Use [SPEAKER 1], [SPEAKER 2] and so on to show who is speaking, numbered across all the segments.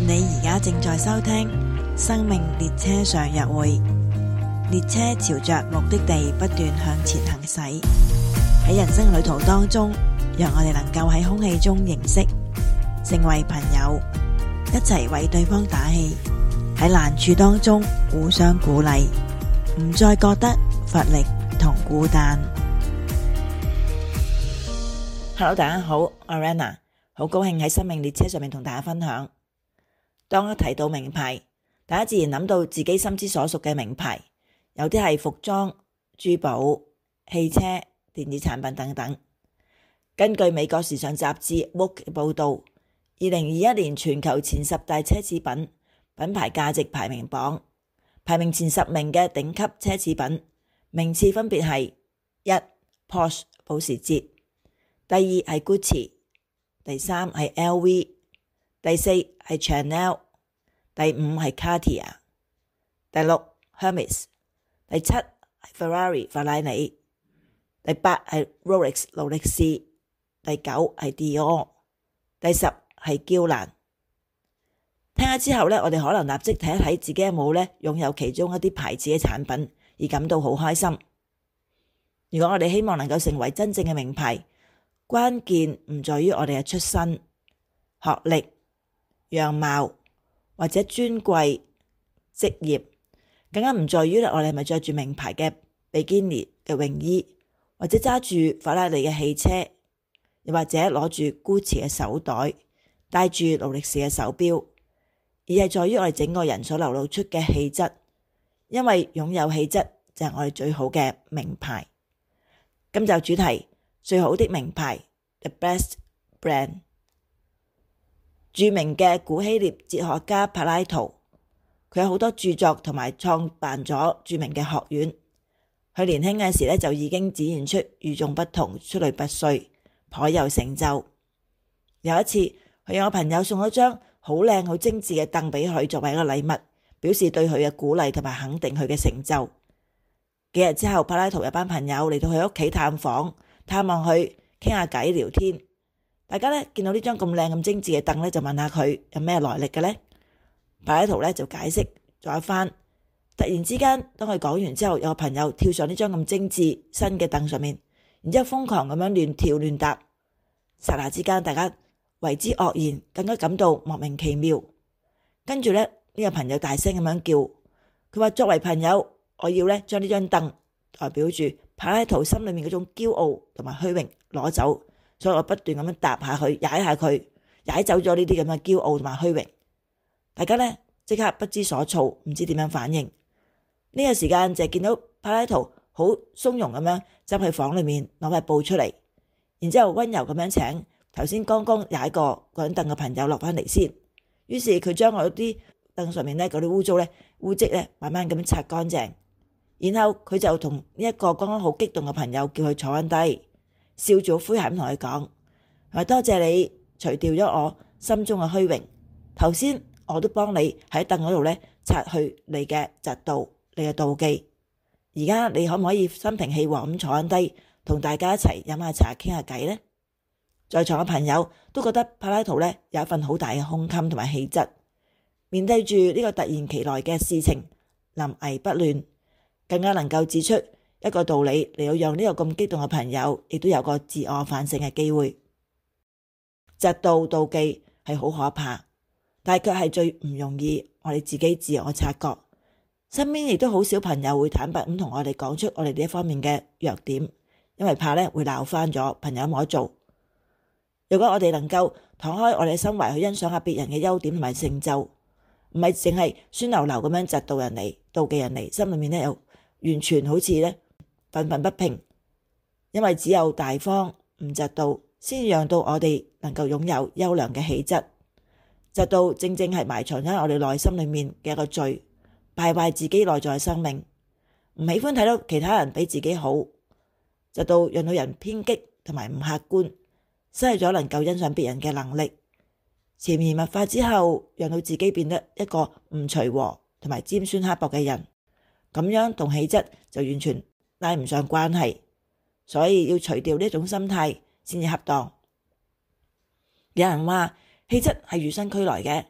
[SPEAKER 1] 你而家正在收聽生命列車上約會，列車朝着目的地不斷向前行駛。喺人生旅途當中，讓我哋能夠喺空氣中認識，成為朋友，一齊為對方打氣。喺難處當中互相鼓勵，唔再覺得乏力同孤單。Hello， 大家好，我係 Rana， 好高興喺生命列車上面同大家分享。當一提到名牌，大家自然諗到自己心之所屬嘅名牌，有啲係服裝、珠寶、汽車、電子產品等等。根據美國時尚雜誌 Vogue 嘅報道，2021年全球前10大奢侈品品牌價值排名榜，排名前10名嘅頂級奢侈品名次分別係：1. Porsche 保時捷，第二係 Gucci， 第三係 LV， 第四係 Chanel， 第五係 Cartier， 第六 Hermes， 第七係 Ferrari 法拉利，第八係 Rolex 勞力士，第九係 Dior， 第10係嬌蘭。聽下之後呢，我哋可能立即睇一睇自己有冇呢擁有其中一啲牌子嘅產品，而感到好開心。如果我哋希望能夠成為真正嘅名牌，關鍵唔在於我哋嘅出身、學歷、樣貌或者尊貴職業，更加唔在於我哋係咪着住名牌嘅比基尼嘅泳衣，或者揸住法拉利嘅汽車，又或者攞住 Gucci 嘅手袋，戴住勞力士嘅手錶，而係在於我哋整個人所流露出嘅氣質。因為擁有氣質就係我哋最好嘅名牌。今集主題：最好的名牌 The Best Brand。著名嘅古希臘哲學家柏拉圖，佢有好多著作同埋創辦咗著名嘅學院。佢年輕嘅時呢，就已經展現出與眾不同、出類拔萃，頗有成就。有一次，佢有個朋友送咗張好靚好精緻嘅凳俾佢作為一個禮物，表示對佢嘅鼓勵同埋肯定佢嘅成就。幾日之後，柏拉圖有班朋友嚟到佢屋企探訪，探望佢，傾下偈聊天。大家呢見到呢張咁靚咁精緻嘅凳呢，就問下佢有咩來歷嘅呢？柏拉圖呢就解釋咗一番。突然之間，當佢講完之後，有個朋友跳上呢張咁精緻新嘅凳上面，然之後瘋狂咁樣亂跳亂踏。剎那之間，大家為之愕然，更加感到莫名其妙。跟住呢個朋友大聲咁樣叫，佢話作為朋友，我要呢將呢張凳代表住柏拉圖心裏面嗰種驕傲同埋虛榮攞走，所以我不斷咁樣踏下佢，踩下佢，踩走咗呢啲咁嘅驕傲同埋虛榮。大家呢即刻不知所措，唔知點樣反應。呢個時間就見到柏拉圖好鬆容咁樣執去房裏面攞塊布出嚟，然之後溫柔咁樣請頭先剛剛踩過嗰張凳嘅朋友落翻嚟先。於是佢將嗰啲凳上面呢嗰啲污漬呢慢慢咁樣擦乾淨，然後佢就同呢一個剛剛好激動嘅朋友叫佢坐翻低，笑住好詼諧咁同佢講：多謝你除掉咗我心中嘅虛榮，頭先我都幫你喺凳嗰度呢擦去你嘅嫉妒、你嘅妒忌。而家你可唔可以心平氣和咁坐翻低，同大家一齊飲下茶傾下偈呢？在場嘅朋友都覺得柏拉圖呢有一份好大嘅胸襟同埋氣質，面對住呢個突然其來嘅事情，臨危不亂，更加能夠指出一個道理嚟到讓呢個咁激動嘅朋友亦都有個自我反省嘅機會。嫉妒妒忌係好可怕，但係卻係最唔容易我哋自己自我察覺。身邊亦都好少朋友會坦白咁同我哋講出我哋呢一方面嘅弱點，因為怕呢會鬧翻咗，朋友冇得做。如果我哋能夠敞開我哋嘅心懷去欣賞下別人嘅優點同埋成就，唔係淨係酸溜溜咁樣嫉妒人哋、妒忌人哋，心裏面呢又完全好似呢憤憤不平。因為只有大方唔嫉妒，先讓到我哋能夠擁有優良嘅氣質。嫉妒正正係埋藏喺我哋內心裏面嘅一個罪，敗壞自己內在嘅生命。唔喜歡睇到其他人比自己好，嫉妒讓到人偏激同埋唔客觀，失去咗能夠欣賞別人嘅能力，潛移默化之後，讓到自己變得一個唔隨和同埋尖酸刻薄嘅人，咁樣同氣質就完全拉唔上關係。所以要除掉呢一種心態先至恰當。有人話氣質係與生俱來嘅，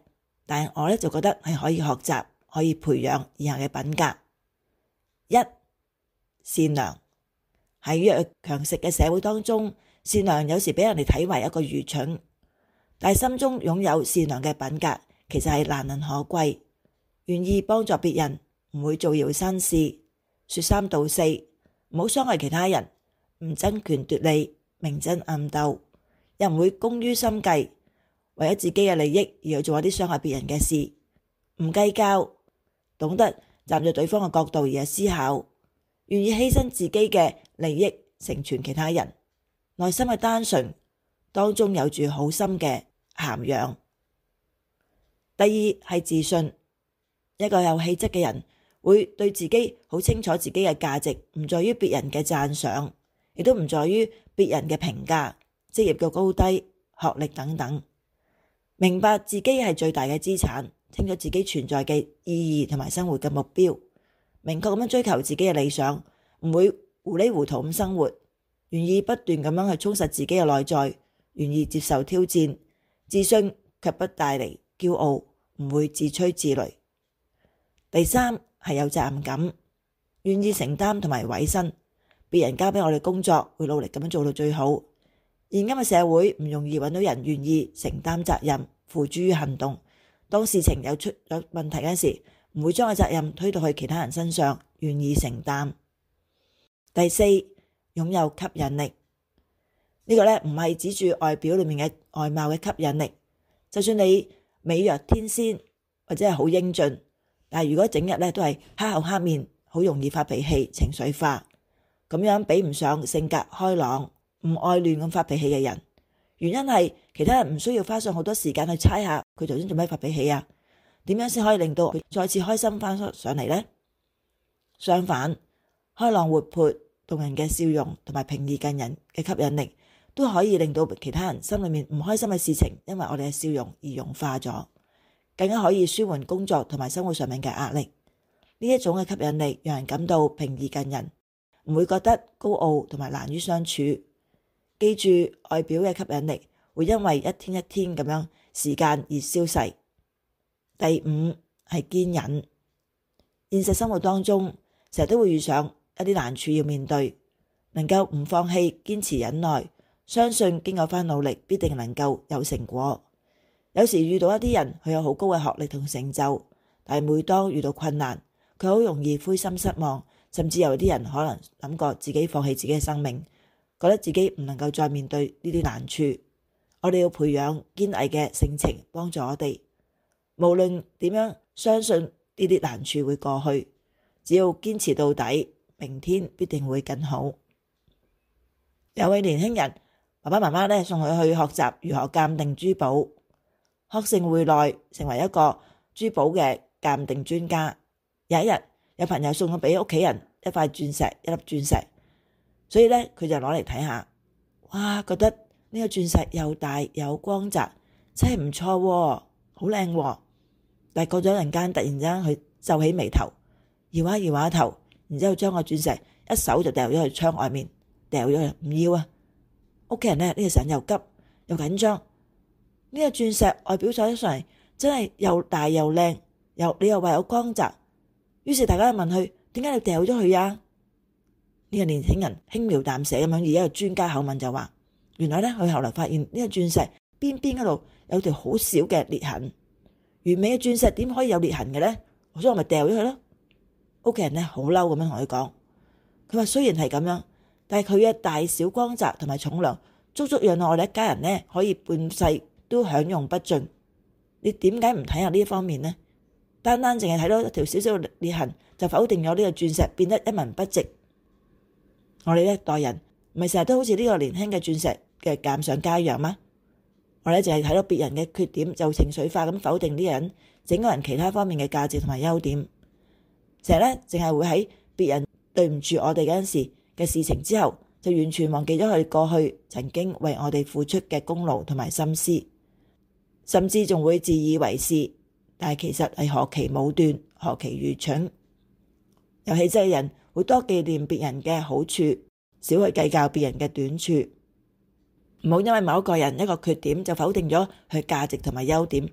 [SPEAKER 1] 但係我就覺得係可以學習，可以培養以下嘅品格：一、善良。喺弱肉強食嘅社會當中，善良有時俾人哋睇為一個愚蠢，但係心中擁有善良嘅品格，其實係難能可貴。願意幫助別人，唔會造謠生事、說三道四，唔好傷害其他人，唔爭權奪利、明爭暗鬥，又唔會工於心計，為咗自己嘅利益而去做一啲傷害別人嘅事，唔計較，懂得站在對方嘅角度而去思考，願意犧牲自己嘅利益成全其他人，內心嘅單純當中有住好深嘅涵養。第二係自信。一個有氣質嘅人會對自己好清楚自己嘅價值，唔在於別人嘅讚賞，亦都唔在於別人嘅評價、職業嘅高低、學歷等等。明白自己係最大嘅資產，清楚自己存在嘅意義同埋生活嘅目標，明確咁樣追求自己嘅理想，唔會糊裡糊塗咁生活，願意不斷咁樣去充實自己嘅內在，願意接受挑戰，自信卻不帶嚟驕傲，唔會自吹自擂。第三係有責任感，願意承擔同埋委身，別人交俾我哋工作，會努力咁樣做到最好。現今嘅社會唔容易揾到人願意承擔責任，付諸於行動。當事情有問題嗰時，唔會將個責任推到去其他人身上，願意承擔。第四，擁有吸引力，呢個唔係指住外表裏面嘅外貌嘅吸引力，就算你美若天仙或者係好英俊，但係如果整日都係黑口黑面，好容易發脾氣、情緒化，咁樣比唔上性格開朗、唔愛亂咁發脾氣嘅人。原因係其他人唔需要花上好多時間去猜下佢頭先做咩發脾氣啊，點樣先可以令到佢再次開心翻上嚟呢？相反，開朗活潑、動人嘅笑容同埋平易近人嘅吸引力，都可以令到其他人心裏面唔開心嘅事情，因為我哋嘅笑容而融化咗。更加可以舒緩工作同埋生活上面嘅壓力。呢一種嘅吸引力讓人感到平易近人，唔會覺得高傲同埋難於相處。記住，外表嘅吸引力會因為一天一天咁樣時間而消逝。第五係堅忍。現實生活當中成日都會遇上一啲難處要面對，能夠唔放棄、堅持忍耐，相信經過翻努力必定能夠有成果。有時遇到一啲人，佢有好高嘅學歷同成就，但係每當遇到困難，佢好容易灰心失望，甚至有啲人可能諗過自己放棄自己嘅生命，覺得自己唔能夠再面對呢啲難處。我哋要培養堅毅嘅性情，幫助我哋，無論點樣相信呢啲難處會過去，只要堅持到底，明天必定會更好。有位年輕人，爸爸媽媽送佢去學習如何鑑定珠寶。學成回來，成為一個珠寶嘅鑑定專家。有一日，有朋友送咗俾屋企人一塊鑽石，一粒鑽石，所以佢就攞嚟睇下。哇，覺得呢個鑽石又大又光澤，真係唔錯喎，好靚喎。但係過咗陣間，突然之間佢皺起眉頭，搖下搖下頭，然之後將個鑽石一手就掉咗去窗外面，掉咗去，唔要啊！屋企人呢個時候又急又緊張。呢個鑽石外表睇上嚟真係又大又靚，你又話有光澤，於是大家就問佢，點解你掉咗佢啊？呢個年輕人輕描淡寫咁樣以一個專家口吻就話，原來佢後來發現呢個鑽石邊邊嗰度有條好小嘅裂痕，完美嘅鑽石點可以有裂痕嘅呢？所以我咪掉咗佢咯。屋企人好嬲咁樣同佢講，佢話雖然係咁樣，但係佢嘅大小光澤同埋重量，足足讓我哋一家人可以半世都享用不盡。你點解唔睇下呢一方面呢？單單淨係睇到一條小小嘅裂痕，就否定咗呢個鑽石變得一文不值。我哋呢代人唔係成日都好似呢個年輕嘅鑽石嘅鑑賞家一樣嗎？我哋淨係睇到別人嘅缺點就情緒化咁否定呢個人整個人其他方面嘅價值同埋優點，成日淨係會喺別人對唔住我哋嗰陣時嘅事情之後，就完全忘記咗佢過去曾經為我哋付出嘅功勞同埋心思，甚至仲會自以為是，但係其實係何其武斷，何其愚蠢。有氣質嘅人會多紀念別人嘅好處，少去計較別人嘅短處。唔好因為某一個人一個缺點就否定咗佢價值同埋優點，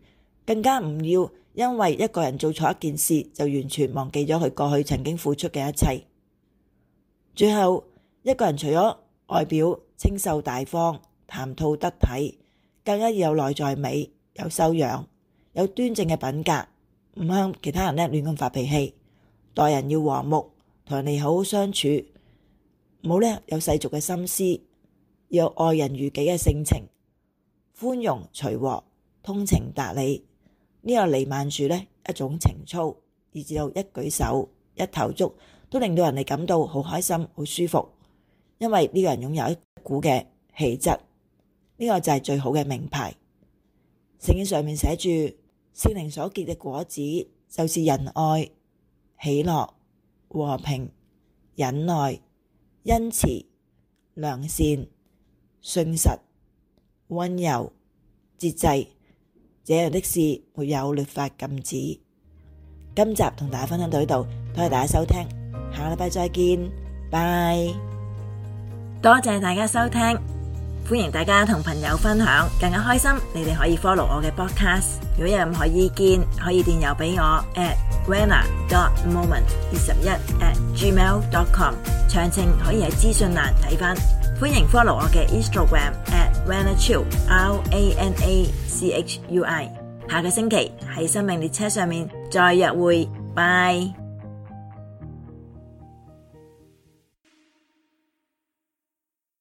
[SPEAKER 1] 更加唔要因為一個人做錯一件事就完全忘記咗佢過去曾經付出嘅一切。最後，一個人除咗外表清秀大方、談吐得體，更加要有內在美、有修養、有端正嘅品格，唔向其他人亂咁發脾氣，待人要和睦，同人哋好好相處，唔好有世俗嘅心思，要有愛人如己嘅性情，寬容隨和、通情達理，呢個彌漫住一種情操，以至到一舉手一投足都令到人哋感到好開心、好舒服，因為呢個人擁有一股嘅氣質，呢個就係最好嘅名牌。聖經上面寫住，聖靈所結嘅果子就是仁愛、喜樂、和平、忍耐、恩慈、良善、信實、溫柔、節制，這樣的事沒有律法禁止。今集同大家分享到呢度，多謝大家收聽，下個禮拜再見，拜。多謝大家收聽，歡迎大家同朋友分享，更加開心。你哋可以 follow 我嘅 podcast， 如果有任何意見，可以電郵俾我 at rana.moment21@gmail.com， 詳情可以喺資訊欄睇返。歡迎 follow 我嘅 Instagram at ranachui RANACHUI。下個星期喺生命列車上面再約會，拜。